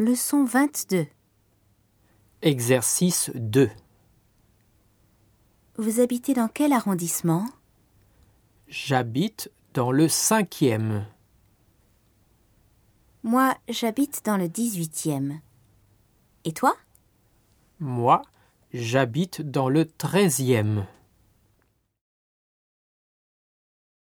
Leçon 22. Exercice 2. Vous habitez dans quel arrondissement? J'habite dans le 5e. Moi, j'habite dans le 18e. Et toi? Moi, j'habite dans le 13e.